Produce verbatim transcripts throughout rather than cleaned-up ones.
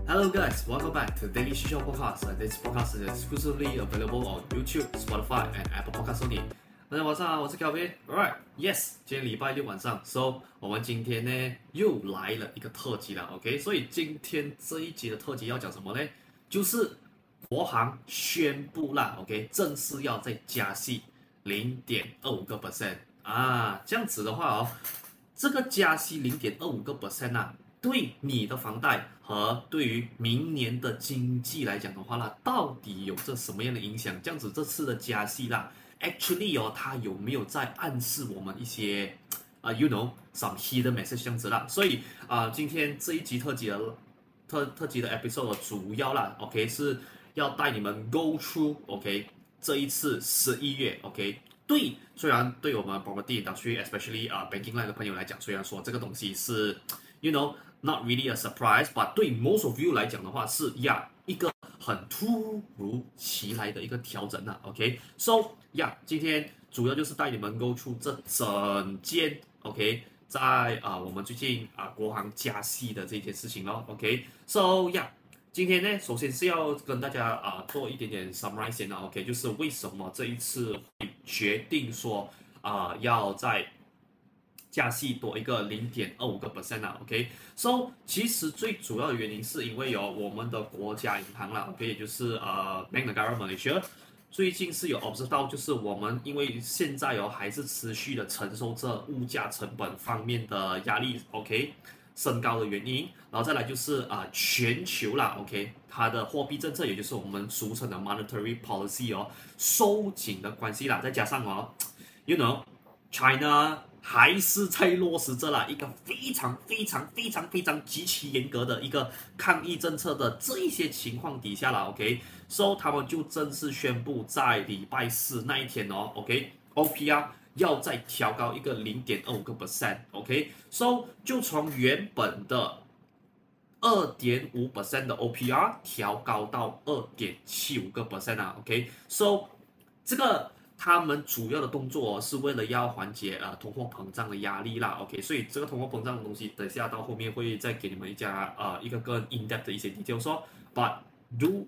Hello guys, welcome back to Daily Shisha Podcast. This podcast is exclusively available on YouTube, Spotify, and Apple Podcasts only. 大家晚上好，我是 Kelvin. Alright, yes， 今天禮拜六晚上 ，So 我們今天呢又來了一個特輯了 ，OK？ 所以今天這一集的特輯要講什麼呢？就是國行宣布啦 ，OK？ 正式要再加息零點二五個 percent 啊，這樣子的話哦，這個加息零點二五個 percent 啊。對你的房貸和對於明年的經濟來講的話啦，到底有着什麼樣的影響？這樣子這次的加息啦 ，actually 哦，它有沒有在暗示我們一些啊、uh, ，you know some hidden message 這樣子啦？所以啊、呃，今天這一集特輯的特特輯的 episode 主要啦 ，OK 是要帶你們 go through OK 這一次十一月 OK 對，雖然對我們 property industry especially 啊、uh, banking line 的朋友來講，雖然說這個東西是 you know。Not really a surprise, but 對 most of you 來講的話是呀、yeah, 一個很突如其來的一個調整啊 ，OK？So 呀、yeah, 今天主要就是帶你們 go through 這整件 OK， 在啊、呃、我們最近啊、呃、國行加息的這件事情咯 ，OK？So 呀、yeah, 今天呢，首先是要跟大家啊、呃、做一點點 summarize 先啊 ，OK？ 就是為什麼這一次會決定說啊、呃、要在加息多一個零點二五個 percent 啊 ，OK，So 其實最主要的原因是因為有我們的國家銀行啦 ，OK， 也就是呃 Bank Negara Malaysia 最近是有 observe 到，就是我們因為現在哦還是持續的承受着物價成本方面的壓力 ，OK， 升高的原因，然後再來就是啊、呃、全球啦 ，OK， 它的貨幣政策也就是我們俗稱的 monetary policy 哦收緊的關係啦，再加上哦 ，you know China。還是在落實着啦一個非常非常非常非常極其嚴格的一個抗疫政策的這一些情況底下啦 ，OK，So 他們就正式宣布在禮拜四那一天哦 ，OK，O P R 要再調高一個零點二五個 percent，OK，So 就從原本的二點五 percent 的 O P R 調高到二點七五個 percent 啊 ，OK，So 這個。他們主要的動作、哦、是為了要緩解呃通貨膨脹的壓力啦 ，OK， 所以這個通貨膨脹的東西，等下到後面會再給你們一家呃一個更 in depth 的一些 details 說 ，But do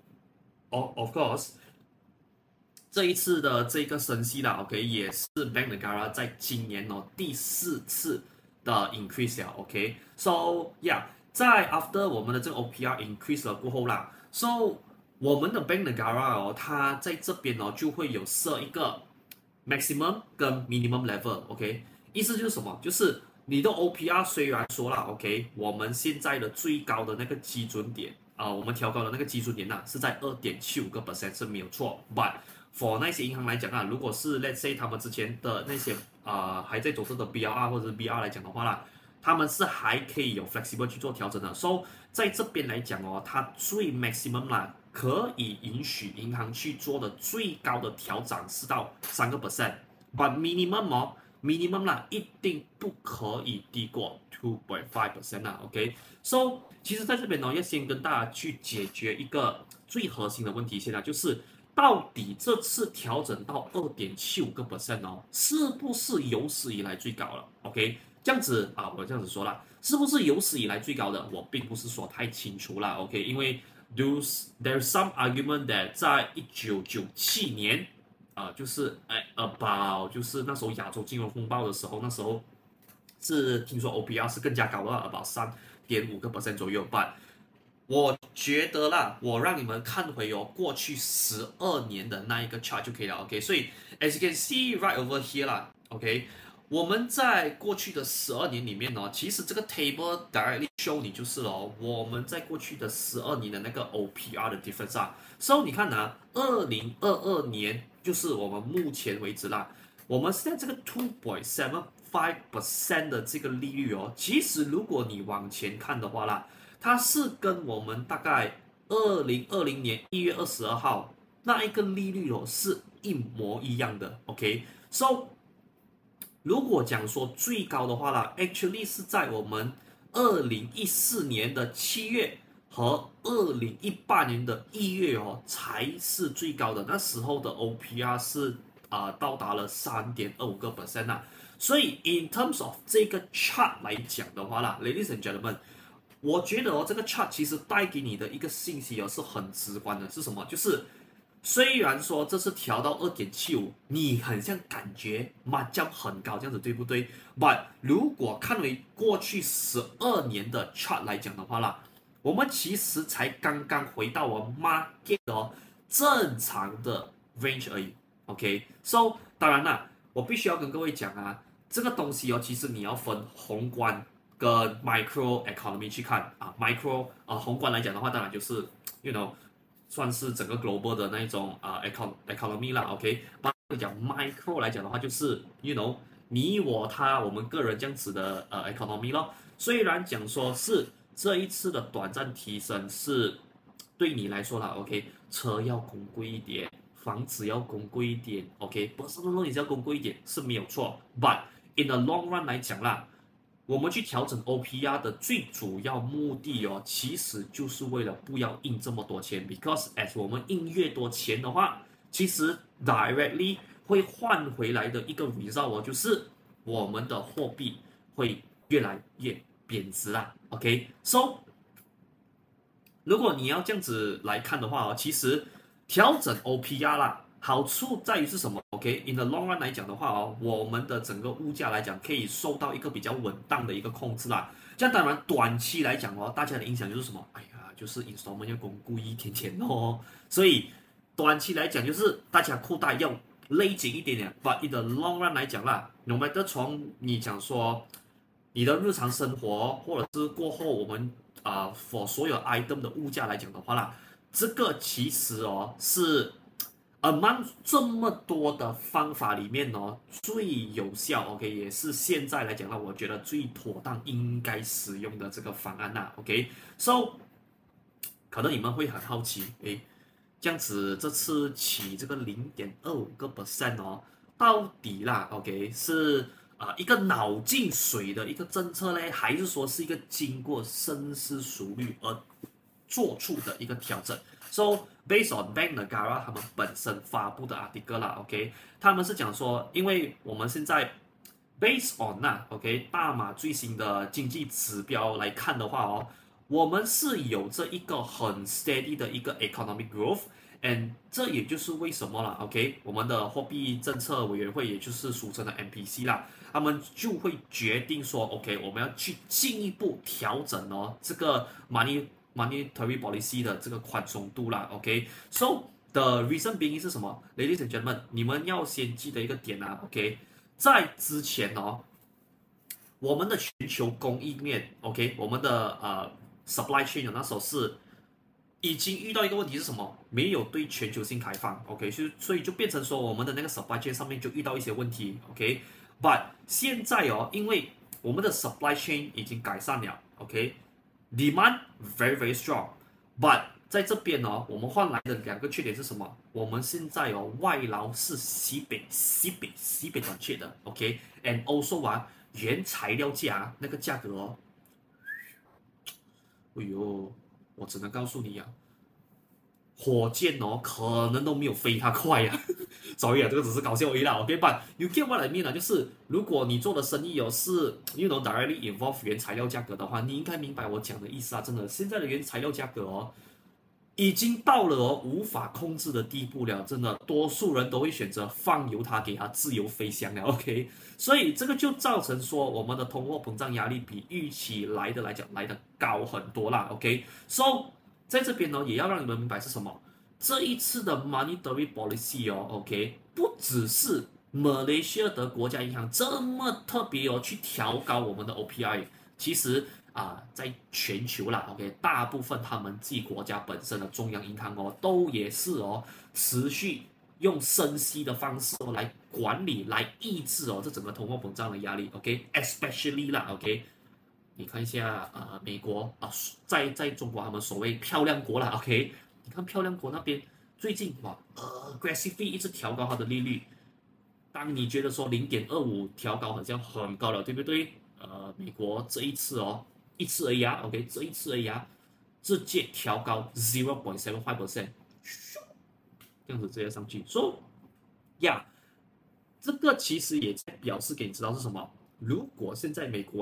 of of course 這一次的這個升息啦 ，OK， 也是 Bank Negara 在今年哦第四次的 increase 了 ，OK，So yeah， 在 after 我們的這個 O P R increase 了過後啦 ，So。我們的 Bank Negara 哦，它在這邊哦就會有設一個 maximum 跟 minimum level，OK， 意思就是什麼？就是你的 O P R 雖然說啦 ，OK， 我們現在的最高的那個基準點啊、呃，我們調高的那個基準點吶、啊、是在二點七五個 percent 是沒有錯 ，but for 那些銀行來講啊，如果是 let's say 他們之前的那些啊、呃、還在走這的 B R R 或者是 B R 來講的話啦，他們是還可以有 flexible 去做調整的。So 在這邊來講哦，它最 maximum 啦。可以允許銀行去做的最高的調整是到三個 percent，but minimum 哦 ，minimum 啦一定不可以低過 two point five percent 啦 ，OK，So 其實在這邊呢，要先跟大家去解決一個最核心的問題，現在就是到底這次調整到二點七五個 percent 哦，是不是有史以來最高了 ？OK， 這樣子啊，我這樣子說啦，是不是有史以來最高的？我並不是說太清楚啦 ，OK， 因為。There's there's some argument that 在一九九七年，啊、呃，就是哎 about 就是那時候亞洲金融風暴的時候，那時候是聽說 O P R 是更加高的 about 三點五個 percent 左右。But 我覺得啦，我讓你們看回哦過去十二年的那一個 chart 就可以了。OK， 所以 as you can see right over here 啦 ，OK。我們在過去的十二年裡面呢，其實這個 table directly show 你就是了，我們在過去的十二年的那個 O P R 的 difference 啊。So 你看啊，二零二二年就是我們目前為止啦，我們現在這個 two point seven five percent 的這個利率哦，其實如果你往前看的話啦，它是跟我們大概二零二零年一月二十二號那一個利率哦是一模一樣的。OK，So。如果講說最高的話啦 ，actually 是在我們二零一四年的七月和二零一八年的一月哦，才是最高的。那時候的 O P R 是啊、呃、到達了三點二五個 percent 啊。所以 in terms of 這個 chart 來講的話啦 ，ladies and gentlemen， 我覺得哦，這個 chart 其實帶給你的一個信息哦是很直觀的，是什麼？就是雖然說這次調到 二點七五，你很像感覺嘛將很高這樣子，對不對 ？But 如果看回過去十二年的 chart 來講的話啦，我們其實才剛剛回到我 market 哦正常的 range 而已。OK，so 當然啦，我必須要跟各位講啊，這個東西哦，其實你要分宏觀跟 micro economy 去看啊。micro 啊，宏觀來講的話，當然就是 you know 算是整個 global 的那一種啊 econ economy 啦。OK， 把講 micro 來講的話，就是 you know 你我他我們個人這樣子的呃 economy 咯。雖然講說是這一次的短暫提升是對你來說啦 ，OK， 車要供貴一點。房子要供貴一點 ，OK，personal loan 也是要供貴一點是沒有錯 ，but in the long run 來講啦，我們去調整 O P R 的最主要目的哦，其實就是為了不要印這麼多錢 ，because as 我們印越多錢的話，其實 directly 會換回來的一個 result 哦，就是我們的貨幣會越來越貶值啦 ，OK，so 如果你要這樣子來看的話哦，其實調整 O P R 啦，好處在於是什麼 ？OK，in the long run 來講的話哦，我們的整個物價來講可以受到一個比較穩當的一個控制啦。這樣當然短期來講哦，大家的影響就是什麼？哎呀，就是 installment 要供貴一點點哦。所以短期來講就是大家褲帶要勒緊一點點。But in the long run 來講啦，no matter 從你講說你的日常生活，或者是過後我們啊、呃、for 所有 item 的物價來講的話啦。這個其實哦是 among 這麼多的方法裡面哦最有效 ，OK， 也是現在來講呢，我覺得最妥當應該使用的這個方案吶 ，OK，so 可能你們會很好奇，誒，這樣子這次起這個零點二五個 percent 哦，到底啦 ，OK 是啊、呃、一個腦進水的一個政策呢，還是說是一個經過深思熟慮而做出的一個調整 ，so based on Bank Negara 他們本身發布的 article 啦 ，OK， 他們是講說，因為我們現在 based on 那 OK 大馬最新的經濟指標來看的話哦，我們是有這一個很 steady 的一個 economic growth，and 這也就是為什麼啦 ，OK， 我們的貨幣政策委員會，也就是俗稱的 M P C 啦，他們就會決定說 ，OK， 我們要去進一步調整哦，這個 money monetary policy 的這個寬鬆度啦 ，OK，so the reason being 是什麼 ？Ladies and gentlemen，你們要先記得一個點啊 ，OK， 在之前哦，我們的全球供應鏈 ，OK， 我們的呃 supply chain 那時候是已經遇到一個問題是什麼？沒有對全球性開放 ，OK， 所以所以就變成說我們的那個 supply chain 上面就遇到一些問題 ，OK，but 現在哦，因為我們的 supply chain 已經改善了 ，OK。Demand very very strong, but 在這邊哦，我們換來的兩個缺點是什麼？我們現在哦，外勞是西北西北西北短缺的 ，OK，and also 啊，原材料價那個價格哦，哎呦，我只能告訴你啊，火箭哦，可能都沒有飛它快啊。sorry 啊，這個只是搞笑而已啦 ，OK，but you get what I mean 啊，就是如果你做的生意哦是 you know directly involve 原材料價格的話，你應該明白我講的意思啊，真的，現在的原材料價格哦，已經到了哦無法控制的地步了，真的，多數人都會選擇放由它給它自由飛翔了 ，OK， 所以這個就造成說我們的通貨膨脹壓力比預期來的來講來的高很多啦 ，OK，so 在這邊呢也要讓你們明白是什麼。這一次的 monetary policy 哦 ，OK， 不只是馬來西亞的國家銀行這麼特別哦，去調高我們的 O P R， 其實啊、呃，在全球啦 ，OK， 大部分他們自己國家本身的中央銀行哦，都也是哦，持續用升息的方式哦來管理、來抑制哦這整個通貨膨脹的壓力 ，OK，especially、okay? 啦 ，OK， 你看一下呃美國啊，在在中國他們所謂漂亮國啦 ，OK。你看漂亮國那邊最近哇呃 aggressively 一直調高它的利率，當你覺得說零點二五調高好像很高了，對不對？呃，美國這一次哦，一次而已啊 ，OK， 這一次而已啊，直接調高 zero point seven five percent， 這樣子直接上去。So， 呀、yeah, 這個其實也在表示給你知道是什麼？如果現在美國啊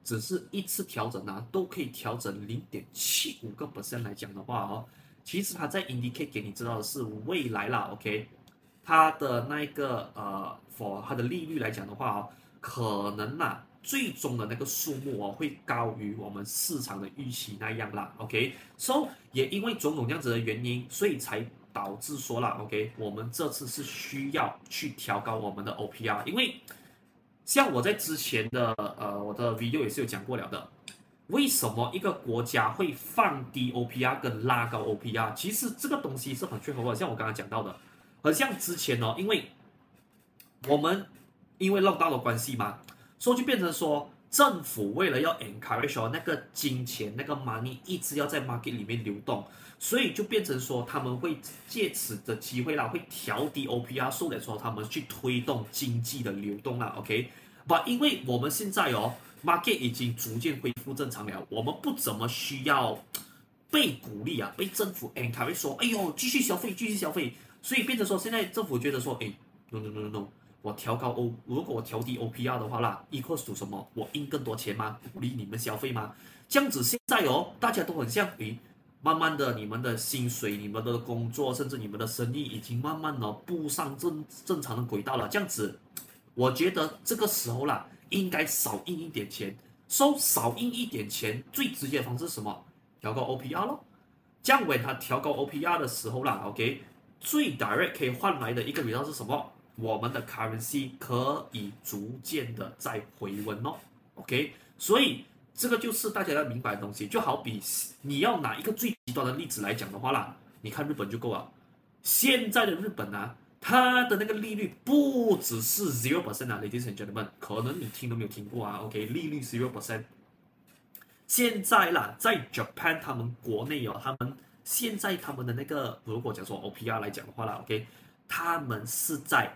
只是一次調整啊，都可以調整零點七五個 percent 來講的話哦，其實它在 indicate 給你知道的是未來啦 ，OK， 它的那個呃 for 它的利率來講的話哦，可能啦，最終的那個數目哦會高於我們市場的預期那樣啦 ，OK，so 也因為種種這樣子的原因，所以才導致說啦 ，OK， 我們這次是需要去調高我們的 O P R， 因為像我在之前的呃我的 video 也是有講過了的，為什麼一個國家會放低 O P R 跟拉高 O P R？ 其實這個東西是很缺乏的，像我剛剛講到的，很像之前哦，因為我們因為 lockdown 的關係嘛，所以就變成說政府為了要 encourage 那個金錢那個 money 一直要在 market 裡面流動，所以就變成說他們會借此的機會啦，會調低 O P R， 所以說他們去推動經濟的流動啦 ，OK， but 因為我們現在哦 market 已經逐漸恢復正常了，我們不怎麼需要被鼓勵啊，被政府 encourage 說，哎呦繼續消費繼續消費，所以变成說現在政府覺得說，哎 no no no no no， 我調高 O， 如果我調低 O P R 的話啦 ，equals to 什麼？我印更多錢嗎？鼓勵你們消費嗎？這樣子現在哦，大家都很像，誒，慢慢的你們的薪水、你們的工作，甚至你們的生意已經慢慢的步上正正常的軌道了。這樣子，我覺得這個時候啦，應該少印一點錢，收少印一點錢，最直接的方式是什麼？調高 O P R 咯。這樣when它調高 O P R 的時候啦 ，OK， 最 direct 可以換來的一個 result 是什麼？我們的 currency 可以逐漸的在回溫哦 ，OK， 所以這個就是大家要明白的東西。就好比你要拿一個最極端的例子來講的話啦，你看日本就夠了。現在的日本啊，它的那個利率不只是 zero percent 啊 ，ladies and gentlemen， 可能你聽都沒有聽過啊 ，OK， 利率 zero percent。現在啦，在 Japan 他們國內哦，他們現在他們的那個如果講說 O P R 來講的話啦 ，OK， 他們是在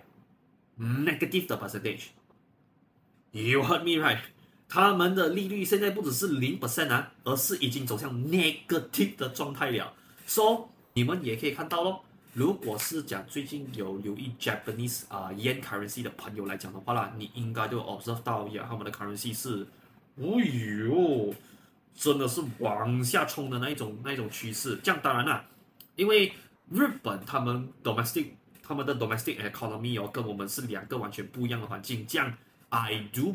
negative 的 percentage，you heard me right？ 他們的利率現在不只是零 percent 啊，而是已經走向 negative 的狀態了。So 你們也可以看到咯，如果是講最近有留意 Japanese 啊、呃、yen currency 的朋友來講的話啦，你應該都 observe 到呀，他們的 currency 是，哦喲，真的是往下衝的那一種那一種趨勢。這樣當然啦，因為日本他們 domestic。他們的 domestic economy 哦，跟我們是兩個完全不一樣的環境。這樣 ，I do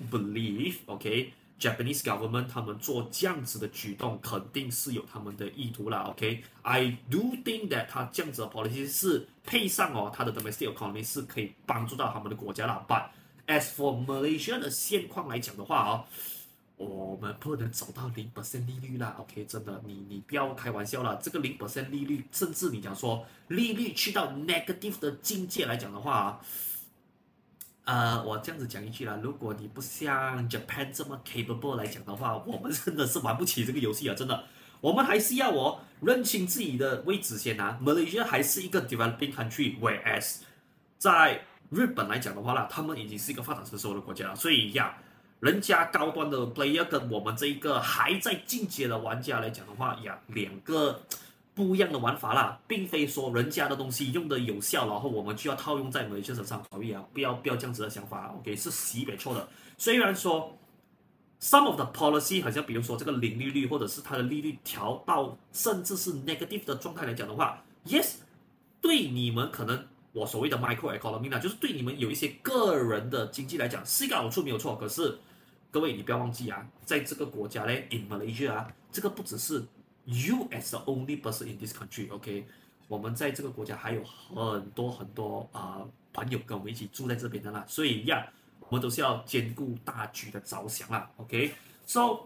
believe，OK，Japanese government 他們做這樣子的舉動，肯定是有他們的意圖啦 ，OK，I do think that 他這樣子的 policy 是配上哦，他的 domestic economy 是可以幫助到他們的國家啦。But as for Malaysia 的現況來講的話哦，我們不能走到零 percent 利率啦 ，OK， 真的，你你不要開玩笑啦，這個零 percent 利率，甚至你講說利率去到 negative 的境界來講的話，呃，我這樣子講一句啦，如果你不像 Japan 這麼 capable 來講的話，我們真的是玩不起這個遊戲啊，真的，我們還是要哦認清自己的位置先啊。Malaysia 還是一個 developing country，whereas 在日本來講的話啦，他們已經是一個發展成熟的國家了，所以呀。人家高端的 player 跟我們這一個還在進階的玩家來講的話呀，兩個不一樣的玩法啦，並非說人家的東西用的有效，然後我們就要套用在馬來西亞身上，所以啊，不要不要這樣子的想法 ，OK， 是西北錯的。雖然說 some of the policy 好像比如說這個零利率，或者是它的利率調到甚至是 negative 的狀態來講的話 ，yes， 對你們可能。我所謂的 micro economy 呢，就是對你們有一些個人的經濟來講是一個好處沒有錯。可是各位你不要忘記啊，在這個國家嘞 ，in Malaysia 啊，這個不只是 you as the only person in this country，OK， 我們在這個國家還有很多很多啊、呃、朋友跟我們一起住在這邊的啦，所以呀，我們都是要兼顧大局的着想啦 ，OK，so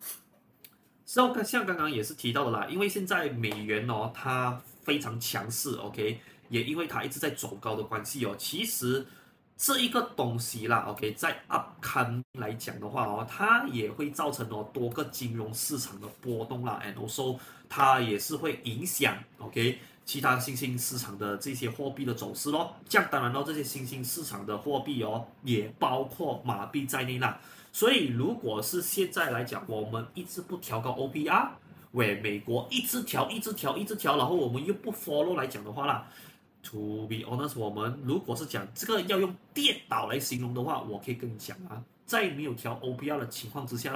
so 像剛剛也是提到的啦，因為現在美元哦它非常強勢 ，OK。也因為它一直在走高的關係哦，其實這一個東西啦 ，OK， 在 upcoming 來講的話哦，它也會造成哦多個金融市場的波動啦 ，and also 它也是會影響 OK 其他新興市場的這些貨幣的走勢咯。這樣當然咯，這些新興市場的貨幣哦，也包括馬幣在內啦。所以如果是現在來講，我們一直不調高 O P R， 喂，美國一直調、一直調、一直調，然後我們又不 follow 來講的話啦。To be honest， 我們如果是講這個要用跌倒來形容的話，我可以跟你講啊，在沒有調 O P R 的情況之下啦，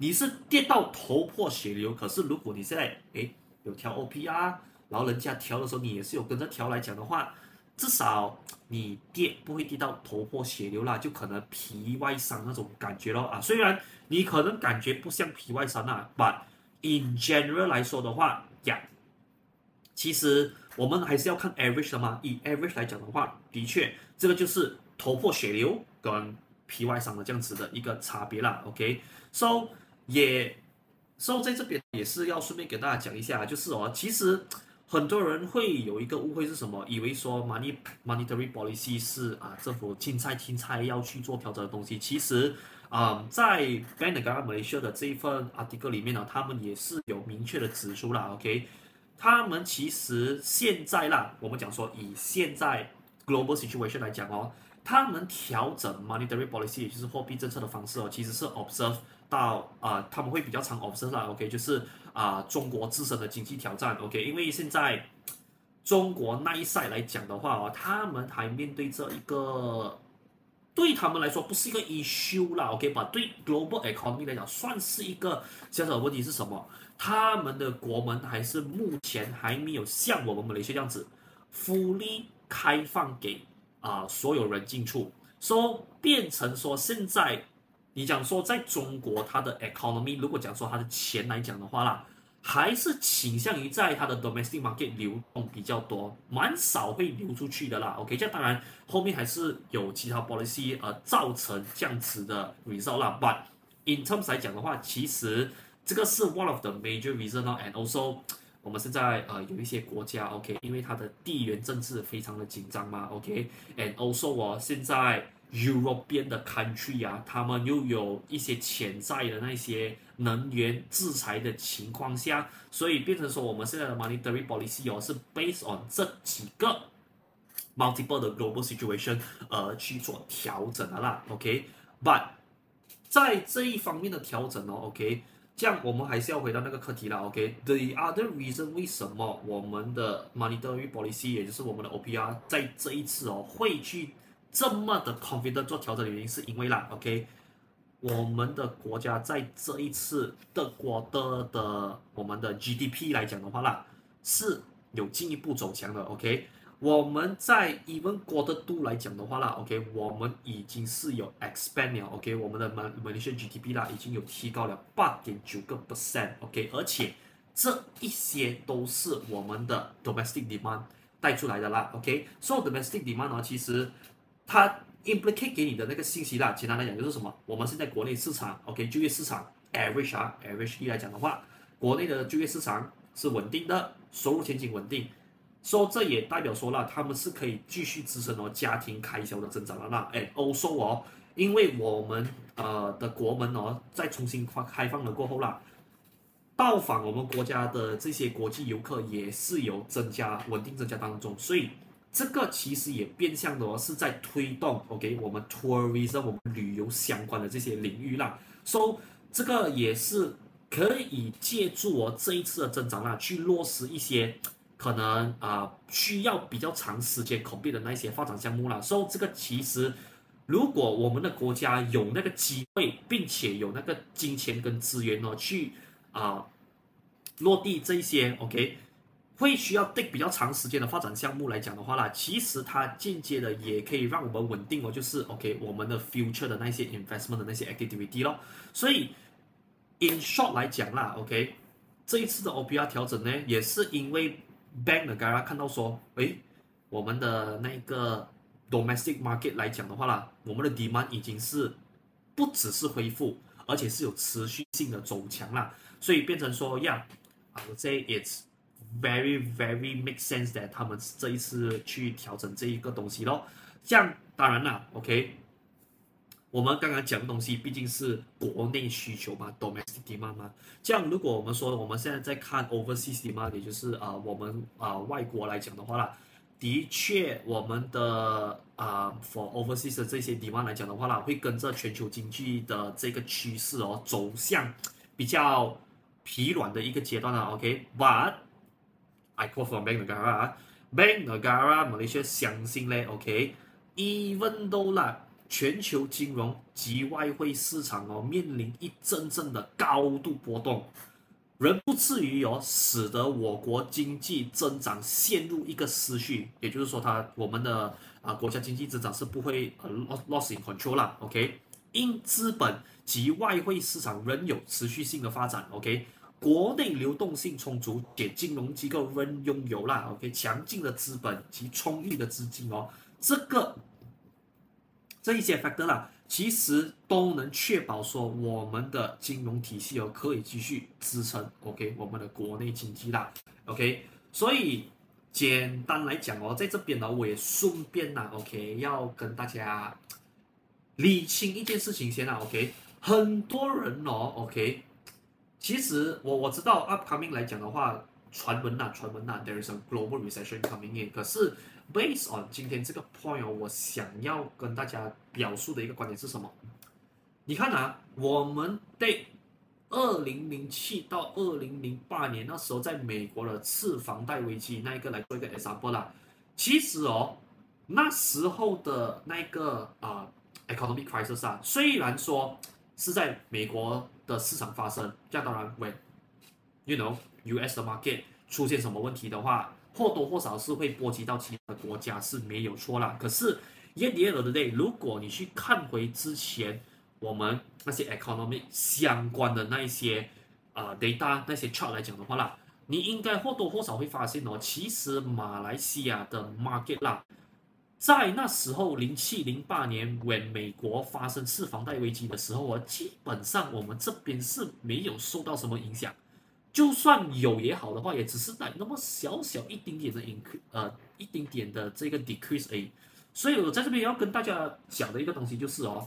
你是跌到頭破血流，可是如果你現在誒有調 O P R，然後人家調的時候你也是有跟着調來講的話，至少你跌不會跌到頭破血流啦，就可能皮外傷那種感覺咯啊。雖然你可能感覺不像皮外傷啊 ，but in general 來說的話呀，其實我們還是要看 average 的嘛。以 average 來講的話，的確這個就是頭破血流跟皮外傷的這樣子的一個差別啦。OK，so 也 so 在這邊也是要順便給大家講一下，就是哦，其實很多人會有一個誤會是什麼？以為說 money monetary policy 是啊政府青菜青菜要去做調整的東西。其實啊、嗯，在 Bank Negara Malaysia 的這一份 article 裡面呢，他們也是有明確的指出啦。OK， 他們其實現在啦，我們講說以現在 global situation 來講哦。他們調整 monetary policy， 也就是貨幣政策的方式哦，其實是 observe 到啊、呃，他們會比較常 observe 啦 ，OK， 就是啊、呃，中國自身的經濟挑戰 ，OK， 因為現在中國那一 side 來講的話哦，他們還面對着一個對他們來說不是一個 issue 啦 ，OK， 把對 global economy 來講算是一個小小的問題是什麼？他們的國門還是目前還沒有像我們馬來西亞這樣子 fully 開放給。啊、呃，所有人進出，所、so, 變成說現在你講說在中國它的 economy， 如果講說它的錢來講的話啦，還是傾向於在它的 domestic market 流動比較多，蠻少會流出去的啦。OK， 這當然後面還是有其他 policy 呃造成這樣子的 result 啦。But in terms 來講的話，其實這個是 one of the major reason 哦 ，and also。我們現在呃有一些國家 ，OK， 因為它的地緣政治非常的緊張嘛 ，OK，and also 哦，現在 European 的 country 啊，他們又有一些潛在的那些能源制裁的情況下，所以變成說我們現在的 monetary policy 哦是 based on 這幾個 multiple 的 global situation 而去做調整的啦 ，OK，but 在這一方面的調整哦 ，OK。這樣我們還是要回到那個課題啦 ，OK？The other reason 為什麼我們的 monetary policy， 也就是我們的 O P R， 在這一次哦會去這麼的 confident 做調整的原因，是因為啦 ，OK？ 我們的國家在這一次的國的的我們的 G D P 來講的話啦，是有進一步走強的 ，OK？我們在 even quarter two 來講的話啦 ，OK， 我們已經是有 expand 了 ，OK， 我們的 Malaysia G D P 啦已經有提高了 八點九個 percent，OK， 而且這一些都是我們的 domestic demand 帶出來的啦 ，OK，so domestic demand 呢，其實它 implicate 給你的那個信息啦，簡單來講就是什麼？我們現在國內市場 ，OK， 就業市場 average 啊 ，average 來講的話，國內的就業市場是穩定的，收入前景穩定。所、so, 以這也代表說了，他們是可以繼續支撐哦家庭開銷的增長的啦。哎，also 哦，因為我們呃的國門哦在重新開放了過後啦，到訪我們國家的這些國際遊客也是有增加，穩定增加當中，所以這個其實也變相的哦是在推動 OK 我們 tourism 我們旅遊相關的這些領域啦。So 這個也是可以借助哦這一次的增長啦，去落實一些。可能啊、呃、需要比較長時間 complete 的那些發展項目啦，所以這個其實如果我們的國家有那個機會，並且有那個金錢跟資源哦，去啊、呃、落地這一些 OK， 會需要 take 比較長時間的發展項目來講的話啦，其實它間接的也可以讓我們穩定哦，就是 OK 我們的 future 的那些 investment 的那些 activity 咯，所以 in short 來講啦 OK， 這一次的 O P R 調整呢，也是因為Bank Negara 看到說，誒，我們的那個 domestic market 來講的話啦，我們的 demand 已經是不只是恢復，而且是有持續性的走強啦，所以變成說，Yeah，I would say it's very very make sense that 他們這一次去調整這一個東西咯。這樣當然啦 ，OK。我們剛剛講的東西畢竟是國內需求嘛 ，domestic demand 嘛。這樣，如果我們說我們現在在看 overseas demand， 也就是啊、呃、我們啊、呃、外國來講的話啦，的確我們的啊、呃、for overseas 的這些 demand 來講的話啦，會跟着全球經濟的這個趨勢哦走向比較疲軟的一個階段啦。OK，but、okay? I quote from Bank Negara，Bank Negara Malaysia 相信咧 ，OK，even though 啦。 全球金融及外匯市場哦面臨一陣陣的高度波動，仍不至於哦使得我國經濟增長陷入一個失序，也就是說它我們的啊、呃、國家經濟增長是不會呃 loss in control 啦 ，OK。因資本及外匯市場仍有持續性的發展 ，OK， 國內流動性充足，且金融機構仍擁有啦 ，OK， 強勁的資本及充裕的資金哦，這個這一些 factor 啦，其實都能確保說我們的金融體系哦可以繼續支撐 ，OK， 我們的國內經濟啦 ，OK， 所以簡單來講哦，在這邊呢，我也順便呢 ，OK， 要跟大家理清一件事情先啦 ，OK， 很多人哦 ，OK， 其實我我知道 upcoming 來講的話，傳聞吶，傳聞吶 ，there is a global recession coming in， 可是 based on 今天這個 point 哦，我想要跟大家表述的一個觀點是什麼？你看啊，我們對二零零七到二零零八年那時候在美國的次房貸危機那一個來做一個 example 啦，其實哦，那時候的那個啊。呃Economic crisis 啊，雖然說是在美國的市場發生，這樣當然 when you know U S 的 market 出現什麼問題的話，或多或少是會波及到其他的國家是沒有錯啦。可是 at the end of the day， 如果你去看回之前我們那些 economic 相關的那一些啊、呃、data 那些 chart 來講的話啦，你應該或多或少會發現哦，其實馬來西亞的 market 啦。在那時候，零七零八年，when 美國發生次房貸危機的時候啊，基本上我們這邊是沒有受到什麼影響，就算有也好的話，也只是帶那麼小小一丁點的 increase， 呃，一丁點的這個 decrease 而已。所以我在這邊也要跟大家講的一個東西就是哦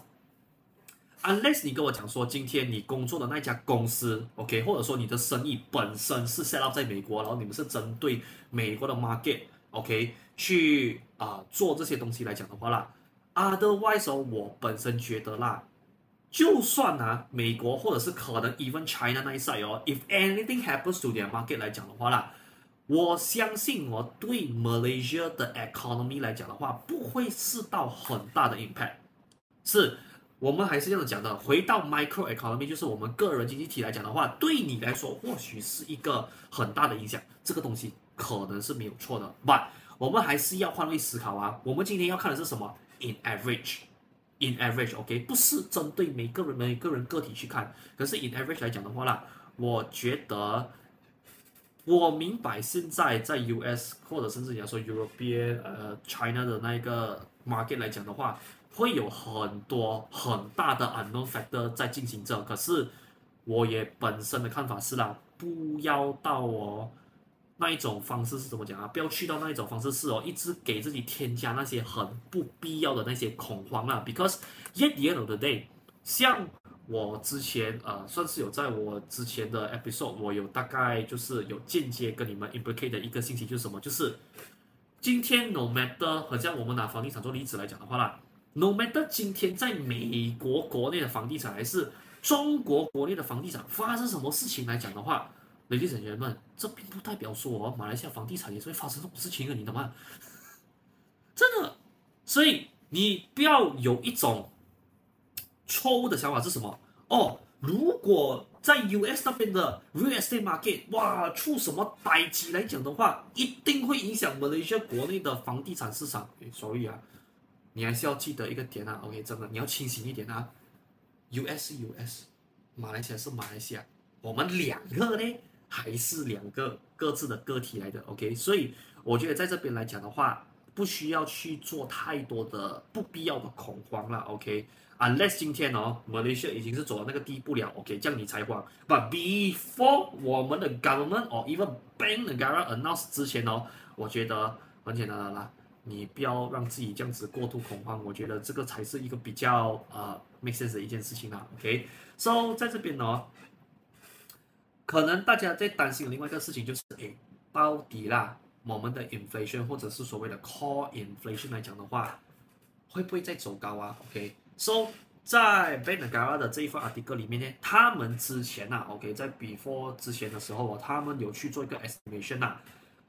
，unless 你跟我講說今天你工作的那家公司 ，OK， 或者說你的生意本身是 set up 在美國，然後你們是針對美國的 market。OK， 去啊、呃、做這些東西來講的話啦 ，otherwise 哦，我本身覺得啦，就算啊美國或者是可能 even China 那一 side 哦 ，if anything happens to their market 來講的話啦，我相信哦，對 Malaysia 的 economy 來講的話，不會是到很大的 impact。是我們還是這樣講的，回到 micro economy， 就是我們個人經濟體來講的話，對你來說或許是一個很大的影響，這個東西可能是沒有錯的 ，but 我們還是要換位思考啊。我們今天要看的是什麼 ？In average，in average，OK， 不是針對每個人每個人個體去看，可是 in average 來講的話啦，我覺得我明白現在在 U S 或者甚至你要說 European 呃 China 的那個 market 來講的話，會有很多很大的 unknown factor 在進行着。可是我也本身的看法是啦，不要到哦。那一種方式是怎麼講啊？不要去到那一種方式是哦，一直給自己添加那些很不必要的那些恐慌啦。Because at the end of the day， 像我之前呃，算是有在我之前的 episode， 我有大概就是有間接跟你們 implicate 的一個信息就是什麼？就是今天 no matter， 好像我們拿房地產做例子來講的話啦 ，no matter 今天在美國國內的房地產還是中國國內的房地產發生什麼事情來講的話。Ladies and gentlemen，這並不代表說哦，馬來西亞房地產也是會發生這種事情的，你懂嗎？真的，所以你不要有一種錯誤的想法是什麼？哦，如果在 U S 那邊的 real estate market 哇出什麼代誌來講的話，一定會影響馬來西亞國內的房地產市場。所以啊，你還是要記得一個點啊 ，OK， 真的你要清醒一點啊。U S 是 U S， 馬來西亞是馬來西亞，我們兩個呢？還是兩個各自的個體來的 ，OK， 所以我覺得在這邊來講的話，不需要去做太多的不必要的恐慌了 ，OK。Unless 今天哦，Malaysia 已經是走到那個地步了 ，OK， 這樣你才慌。But before 我們的 government or even Bank Negara announce 之前哦，我覺得很簡單的啦，你不要讓自己這樣子過度恐慌，我覺得這個才是一個比較呃 make sense 的一件事情啦 ，OK。So 在這邊哦。可能大家在擔心的另外一個事情就是，誒，到底啦，我們的 inflation 或者是所謂的 core inflation 來講的話，會不會再走高啊 ？OK，so 在 Bank Negara 的這一份 article 裡面呢，他們之前啊 ，OK， 在 before 之前的時候，他們有去做一個 estimation 啊，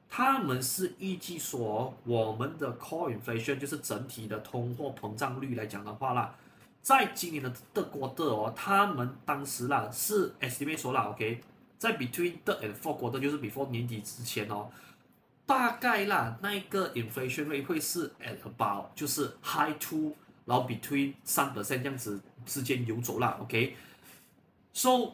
他們是預計說，我們的 core inflation 就是整體的通貨膨脹率來講的話啦，在今年的的 quarter 哦，他們當時啦是 estimate 說啦 ，OK， 在 between third and fourth quarter 就是 before 年底之前哦，大概啦那個 inflation rate 會是 at about 就是 high two， 然後 between 三 percent 這樣子之間游走啦 ，OK，so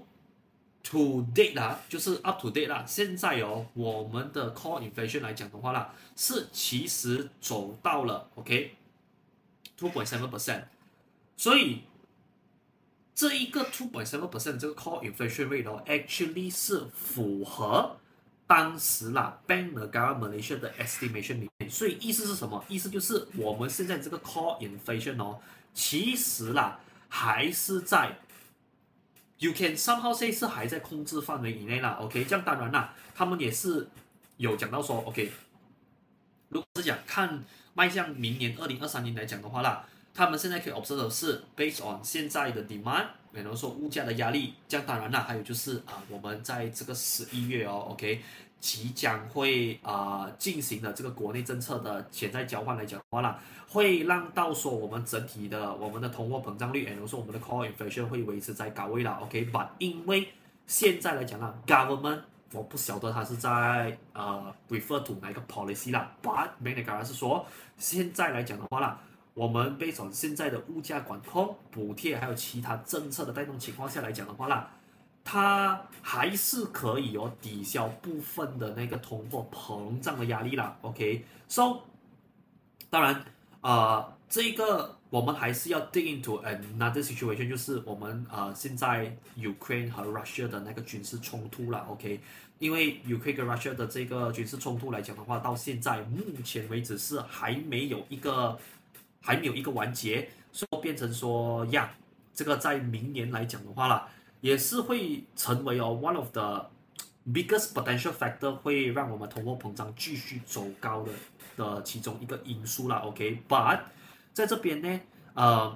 to date 啦，就是 up to date 啦。現在哦，我們的 core inflation 來講的話啦，是其實走到了 OK two point seven percent， 所以這一個two point seven percent 這個 core inflation rate 哦 ，actually 是符合當時啦 Bank Negara Malaysia 的 estimation 裡面。所以意思是什麼？意思就是我們現在這個 core inflation 哦，其實啦還是在You can somehow say 是還在控制範圍以內啦 ，OK， 這樣當然啦，他們也是有講到說 ，OK， 如果是講看邁向明年二零二三年來講的話啦，他們現在可以 observe 的是 based on 現在的 demand， 然後說物價的壓力，這樣當然啦，還有就是啊、呃，我們在這個十一月哦 ，OK， 即將會啊、呃、進行的這個國內政策的潛在交換來講的話啦。會讓到說我們整體的我們的通貨膨脹率，然後說我們的 core inflation 會維持在高位啦 ，OK，but、okay? 因為現在來講啦 ，government 我不曉得它是在呃 refer to 哪一個 policy 啦 ，but Bank Negara 是說現在來講的話啦，我們 based on 現在的物價管控、補貼還有其他政策的帶動情況下來講的話啦，它還是可以哦抵消部分的那個通貨膨脹的壓力啦 ，OK，so、okay? 當然。呃，這個我們還是要 dig into another situation， 就是我們呃現在 Ukraine 和 Russia 的那個軍事衝突了 ，OK？ 因為 Ukraine 跟 Russia 的這個軍事衝突來講的話，到現在目前為止是還沒有一個還沒有一個完結，所以變成說呀，這個在明年來講的話啦，也是會成為哦 one of the biggest potential factor， 會讓我們通貨膨脹繼續走高的。的其中一個因素啦 ，OK，but、okay? 在這邊呢，呃，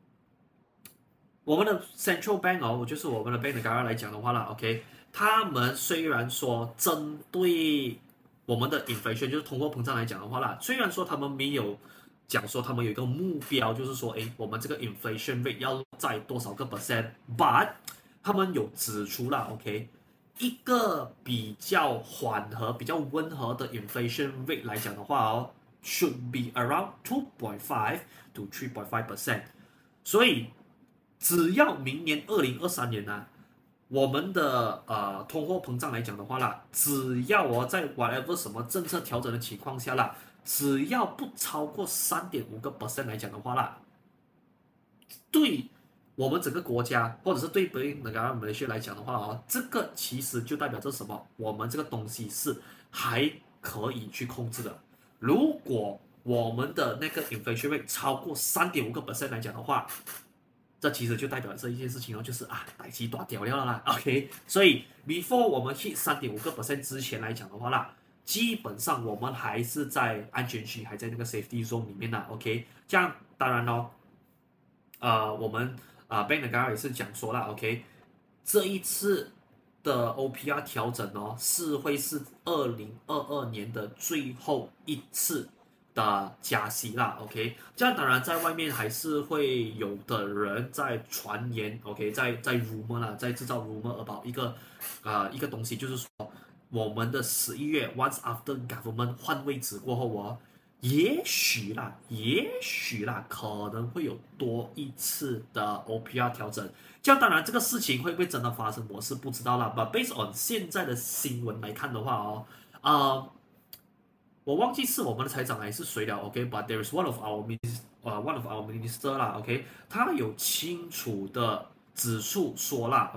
我們的 Central Bank 哦，就是我們的 Bank Negara 來講的話啦 ，OK， 他們雖然說針對我們的 inflation 就是通貨膨脹來講的話啦，雖然說他們沒有講說他們有一個目標，就是說，誒，我們這個 inflation rate 要在多少個 percent，but 他們有指出啦 ，OK。一個比較緩和、比較溫和的 inflation rate 來講的話哦 ，should be around two point five to three point five percent。所以，只要明年二零二三年呢、啊，我們的呃通貨膨脹來講的話啦，只要我、哦、在 whatever 什麼政策調整的情況下啦，只要不超過三點五個 percent 來講的話啦，對。我們整個國家，或者是對 Bank Negara Malaysia 來講的話哦，這個其實就代表着什麼？我們這個東西是還可以去控制的。如果我們的那個 inflation rate 超過三點五個 percent 來講的話，這其實就代表這一件事情哦，就是啊，代誌大條了啦。OK， 所以 before 我們 hit 三點五個 percent 之前來講的話啦，基本上我們還是在安全區，還在那個 safety zone 裡面啦。OK， 這樣當然咯，呃，我們。啊 ，Bank Negara 也是講說了 ，OK， 這一次的 O P R 調整哦，是會是二零二二年的最後一次的加息啦 ，OK， 這樣當然在外面還是會有的人在傳言 ，OK， 在在 rumor 啦，在製造 rumor about 一個啊、呃、一個東西，就是說我們的十一月 once after government 換位置過後哦。也許啦，也許啦，可能會有多一次的 O P R 調整。這樣當然，這個事情會不會真的發生，我是不知道啦。But based on 現在的新聞來看的話哦，啊、呃，我忘記是我們的財長還是誰了 ，OK？But、okay? there is one of our minister，呃、uh, one of our minister 啦 ，OK？ 他有清楚的指出說啦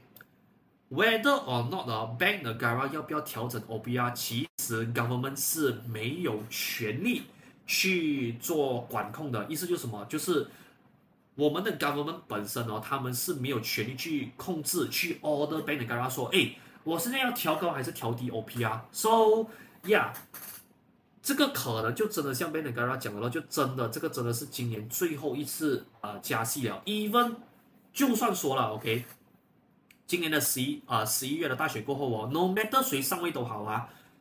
，OK？Whether or not 呢 ，Bank Negara 要不要調整 O P R， 其實 government 是沒有權利去做管控的。意思就是什麼？就是我們的 government 本身哦，他們是沒有權利去控制、去 order Bank Negara 說，哎，我現在要調高還是調低 O P R？So yeah， 這個可能就真的像 Bank Negara 講的了，就真的這個真的是今年最後一次呃加息了。Even 就算說了 ，OK。今年的十一啊十一月的大選過後哦 ，no matter 誰上位都好啊，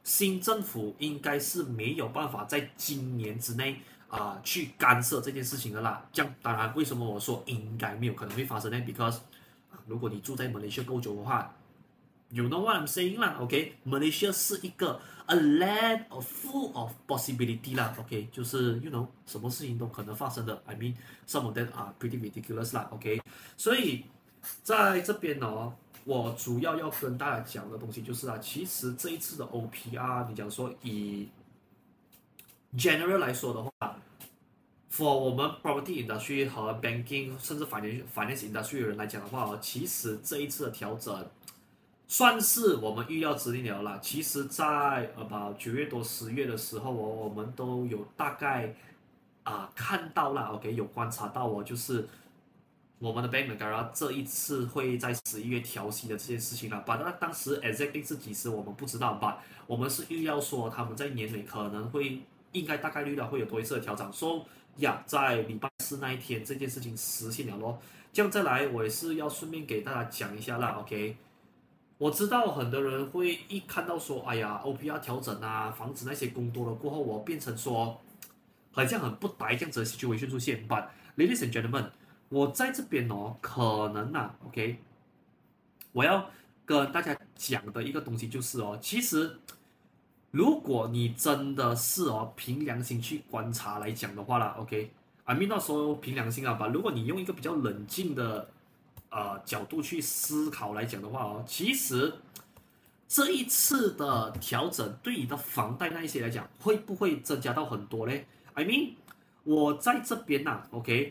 新政府應該是沒有辦法在今年之內啊、呃、去干涉這件事情的啦。這樣當然，為什麼我說應該沒有可能會發生呢 ？Because 如果你住在馬來西亞夠久的話 ，You know what I'm saying 啦 ？OK，Malaysia、okay? 是一個 a land of full of possibility 啦。OK， 就是 You know 什麼事情都可能發生的。I mean some of them are pretty ridiculous 啦。OK， 所以在這邊呢。我主要要跟大家講的東西就是啊，其實這一次的 O P R， 你講說以 general 來說的話 ，for 我們 property industry 和 banking 甚至 finance finance industry 的人來講的話，其實這一次的調整算是我們預料之內了啦。其實，在呃九月多十月的時候哦，我們都有大概啊、呃、看到了 ，OK， 有觀察到哦，就是我們的 Bank Negara 這一次會在十一月調息的這件事情了。但當時 exactly 是幾時我們不知道吧？我們是預料說他們在年尾可能會應該大概率的會有多一次的調整。所以呀，在禮拜四那一天這件事情實現了咯。這樣再來，我也是要順便給大家講一下啦 ，OK。我知道很多人會一看到說，哎呀 ，O P R 調整啊，房子那些工多了過後，我變成說，好像很不呆這樣子的 situation 出現。But ladies and gentlemen，我在這邊哦，可能啊 ，OK， 我要跟大家講的一個東西就是哦，其實如果你真的是哦，憑良心去觀察來講的話啦 ，OK，I mean not說憑良心啊吧，如果你用一個比較冷靜的呃角度去思考來講的話哦，其實這一次的調整對你的房貸那一些來講，會不會增加到很多呢 ？I mean， 我在這邊吶、啊、，OK。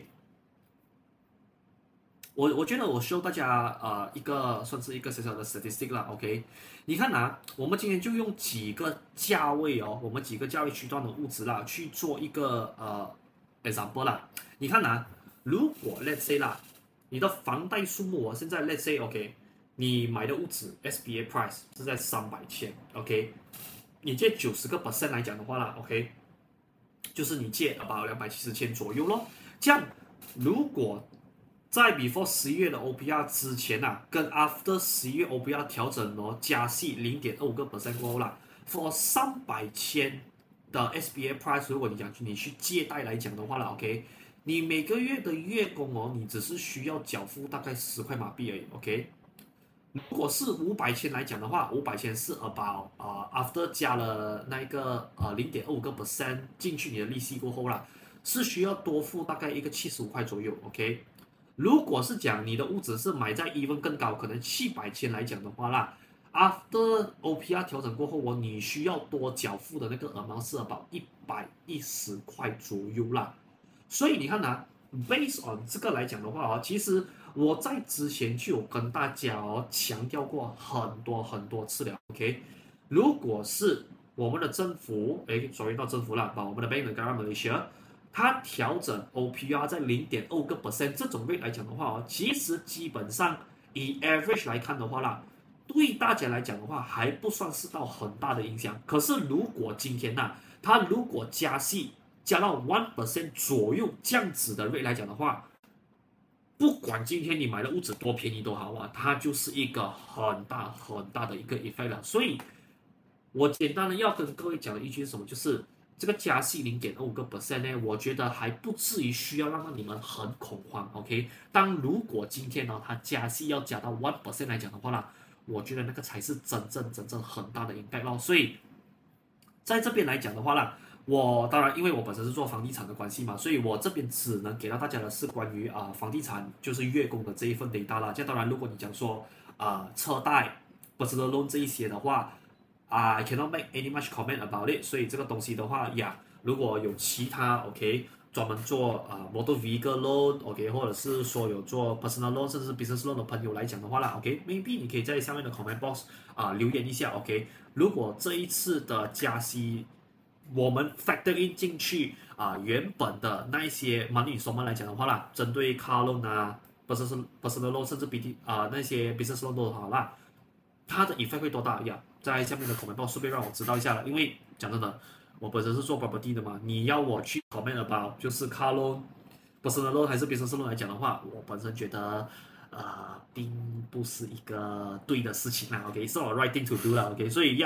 我我覺得我 show 大家呃一個算是一個小小的 statistic 啦 ，OK， 你看啊，我們今天就用幾個價位哦，我們幾個價位區段的物質啦，去做一個呃 example 啦。你看啊，如果 let's say 啦，你的房貸數目哦，現在 let's say OK， 你買的物質 S B A price 是在三百千 ，OK， 你借九十個 percent 來講的話啦 ，OK， 就是你借about兩百七十千左右咯。這樣如果在 before 十一月的 O P R 之前啊，跟 after 十一月 O P R 調整哦，加息零點二五個 percent 過後啦 ，for 三百千的 S B A price， 如果你講你去借貸來講的話啦 ，OK， 你每個月的月供哦，你只是需要繳付大概十塊馬幣而已 ，OK。如果是五百千來講的話，五百千是 about 啊、uh, after 加了那個呃零點二五個 percent 進去你的利息過後啦，是需要多付大概一個七十五塊左右 ，OK。如果是講你的屋子是買在 even 更高，可能七百千來講的話啦 ，after O P R 調整過後，我你需要多繳付的那個 amount 是 about 一百一十塊左右啦。所以你看啊 ，based on 這個來講的話啊，其實我在之前就有跟大家哦強調過很多很多次了 ，OK。如果是我們的政府，誒，sorry 到政府啦，把我們的 Bank Negara Malaysia。它調整 O P R 在零點二五個 percent 這種 rate 來講的話哦，其實基本上以 average 來看的話啦，對大家來講的話還不算是到很大的影響。可是如果今天吶、啊，它如果加息加到 one percent 左右這樣子的 rate 來講的話，不管今天你買的屋子多便宜都好啊，它就是一個很大很大的一個 effect 了。所以，我簡單的要跟各位講的一句是什麼，就是這個加息零點二五個 percent 呢，我覺得還不至於需要讓你們很恐慌 ，OK？ 當如果今天呢，它加息要加到 one percent 來講的話啦，我覺得那個才是真正真正很大的 impact 咯。所以，在這邊來講的話啦，我當然因為我本身是做房地產的關係嘛，所以我這邊只能給到大家的是關於啊、呃、房地產就是月供的這一份 data 啦。這當然，如果你講說啊、呃、車貸、personal loan 這一些的話，I cannot make any much comment about it， 所以這個東西的話呀，如果有其他 OK 專門做啊、呃、motor vehicle loan OK， 或者是說有做 personal loan 甚至是 business loan 的朋友來講的話啦 OK，maybe 你可以在下面的 comment box 啊、呃、留言一下 OK。如果這一次的加息，我們 factor in 進去啊、呃、原本的那一些 money installment 來講的話啦，針對 car loan 啊 personal personal loan 甚至 B T 啊、呃、那些 business loan 都好啦，它的 effect 會多大呀？在下面的 comment box 順便讓我知道一下了，因為講真的，我本身是做 property 的嘛，你要我去 comment about 就是 car loan、personal loan 還是 business loan 來講的話，我本身覺得呃並不是一個對的事情啦 ，OK， 是、so、我 right thing to do 啦 ，OK， 所以呀，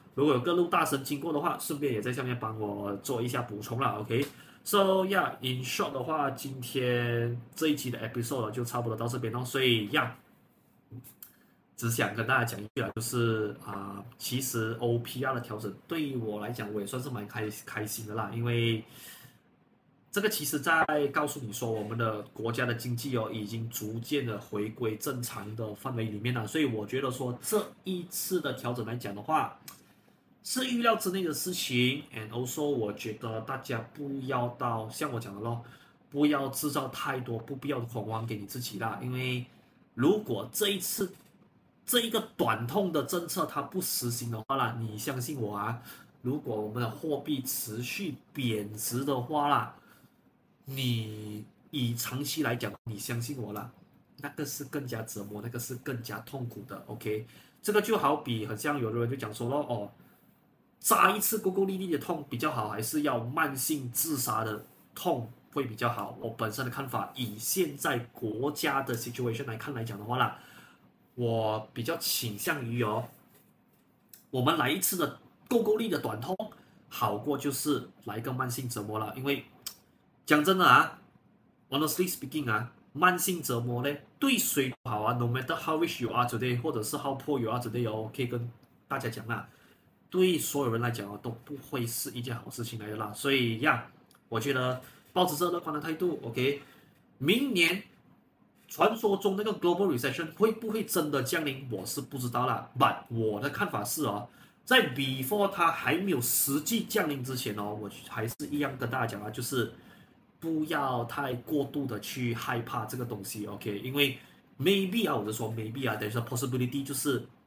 如果有各路大神經過的話，順便也在下面幫我做一下補充啦 OK。So yeah, in short 的話，今天這一期的 episode 就差不多到這邊咯。所以呀。Yeah, 只想跟大家講一句啊，就是啊、呃，其實 O P R 的調整對於我來講，我也算是蠻開開心的啦，因為這個其實在告訴你說，我們的國家的經濟哦，已經逐漸的回歸正常的範圍裡面了，所以我覺得說這一次的調整來講的話，是預料之內的事情 ，and also 我覺得大家不要到像我講的咯，不要製造太多不必要的恐慌給你自己啦，因為如果這一次這一個短痛的政策它不實行的話啦，你相信我啊，如果我們的貨幣持續貶值的話啦，你以長期來講，你相信我啦，那個是更加折磨，那個是更加痛苦的。OK， 這個就好比很像有的人就講說咯，哦，扎一次夠夠力力的痛比較好，還是要慢性自殺的痛會比較好？我本身的看法，以現在國家的 situation 來看來講的話啦。我比較傾向於哦，我們來一次的夠夠力的短痛，好過就是來一個慢性折磨了。因為講真的啊 ，honestly speaking 啊，慢性折磨呢對誰都好啊 ，no matter how rich you are today， 或者是 how poor you are today 哦，可以跟大家講啦，對所有人來講啊都不會是一件好事情來的啦。所以呀，我覺得抱着這樂觀的態度 ，OK， 明年。傳說中那個 global recession 會不會真的降臨，我是不知道啦。But 我的看法是哦，在 before 它還沒有實際降臨之前哦，我還是一樣跟大家講啊，就是不要太過度的去害怕這個東西 ，OK？ 因為 maybe 啊，我就說 maybe 啊 ，there's a possibility 就是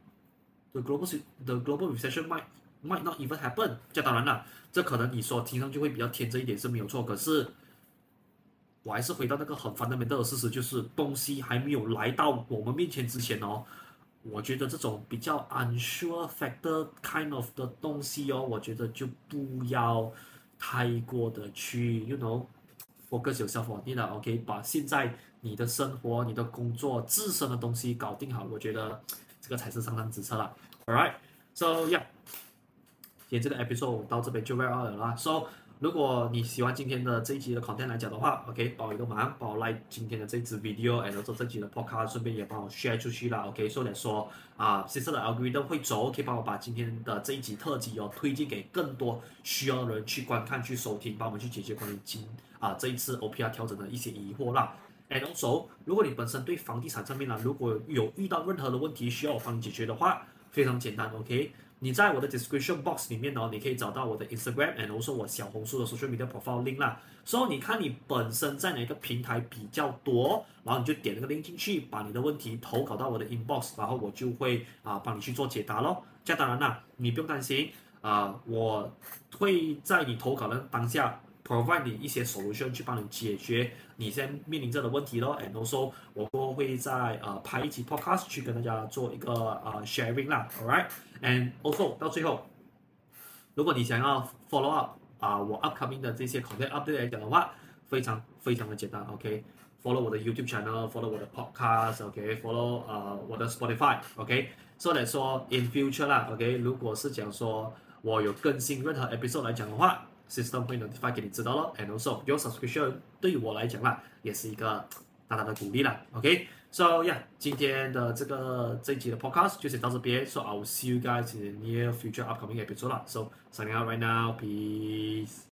the global the global recession might might not even happen。這當然啦，這可能你說聽上去會比較天真一點是沒有錯，可是。我還是回到那個很 fundamental 的事實，就是東西還沒有來到我們面前之前哦，我覺得這種比較 unsure factor kind of 的東西哦，我覺得就不要太過的去 you know focus yourself on it 了 ，OK？ 把現在你的生活、你的工作、自身的東西搞定好，我覺得這個才是上上之策啦。All right，so yeah， 今天這個 episode 到這邊就 wrap up 了啦。So 如果你喜歡今天的這一集的 content 來講的話 ，OK， 幫我一個忙，幫我 like 今天的這一支 video，and also 這集的 podcast， 順便也幫我 share 出去啦 ，OK， 所以說啊，接下來的 algorithm 會走，可以幫我把今天的這一集特輯哦推薦給更多需要的人去觀看、去收聽，幫我們去解決關於今啊這一次 O P R 調整的一些疑惑啦。And also，如果你本身對房地產上面呢，如果有遇到任何的問題需要我幫你解決的話，非常簡單 ，OK。你在我的 description box 裡面哦，你可以找到我的 Instagram and also 我小紅書的 social media profile link 啦。所以你看你本身在哪個平台比較多，然後你就點那個 link 進去，把你的問題投稿到我的 inbox， 然後我就會啊幫你去做解答咯。這樣當然啦，你不用擔心啊，我會在你投稿的當下 provide 你一些 solution 去幫你解決你現在面臨着的問題咯。And also 我都會在呃拍一期 podcast 去跟大家做一個呃 sharing 啦 ，alright。And also 到最後，如果你想要 follow up 啊、呃、我 upcoming 的這些 content update 來講的話，非常非常的簡單 ，OK。Follow 我的 YouTube channel，follow 我的 podcast，OK，follow、okay? 呃我的 Spotify，OK。So that 說 in future 啦 ，OK， 如果是講說我有更新任何 episode 來講的話。System 會 notify 給你知道咯 ，and also your subscription 對於我來講啦，也是一個大大的鼓勵啦。OK，so yeah， 今天的這個這一集的 podcast 就先到這邊，so I will see you guys in the near future upcoming episode 啦。So signing out right now，peace。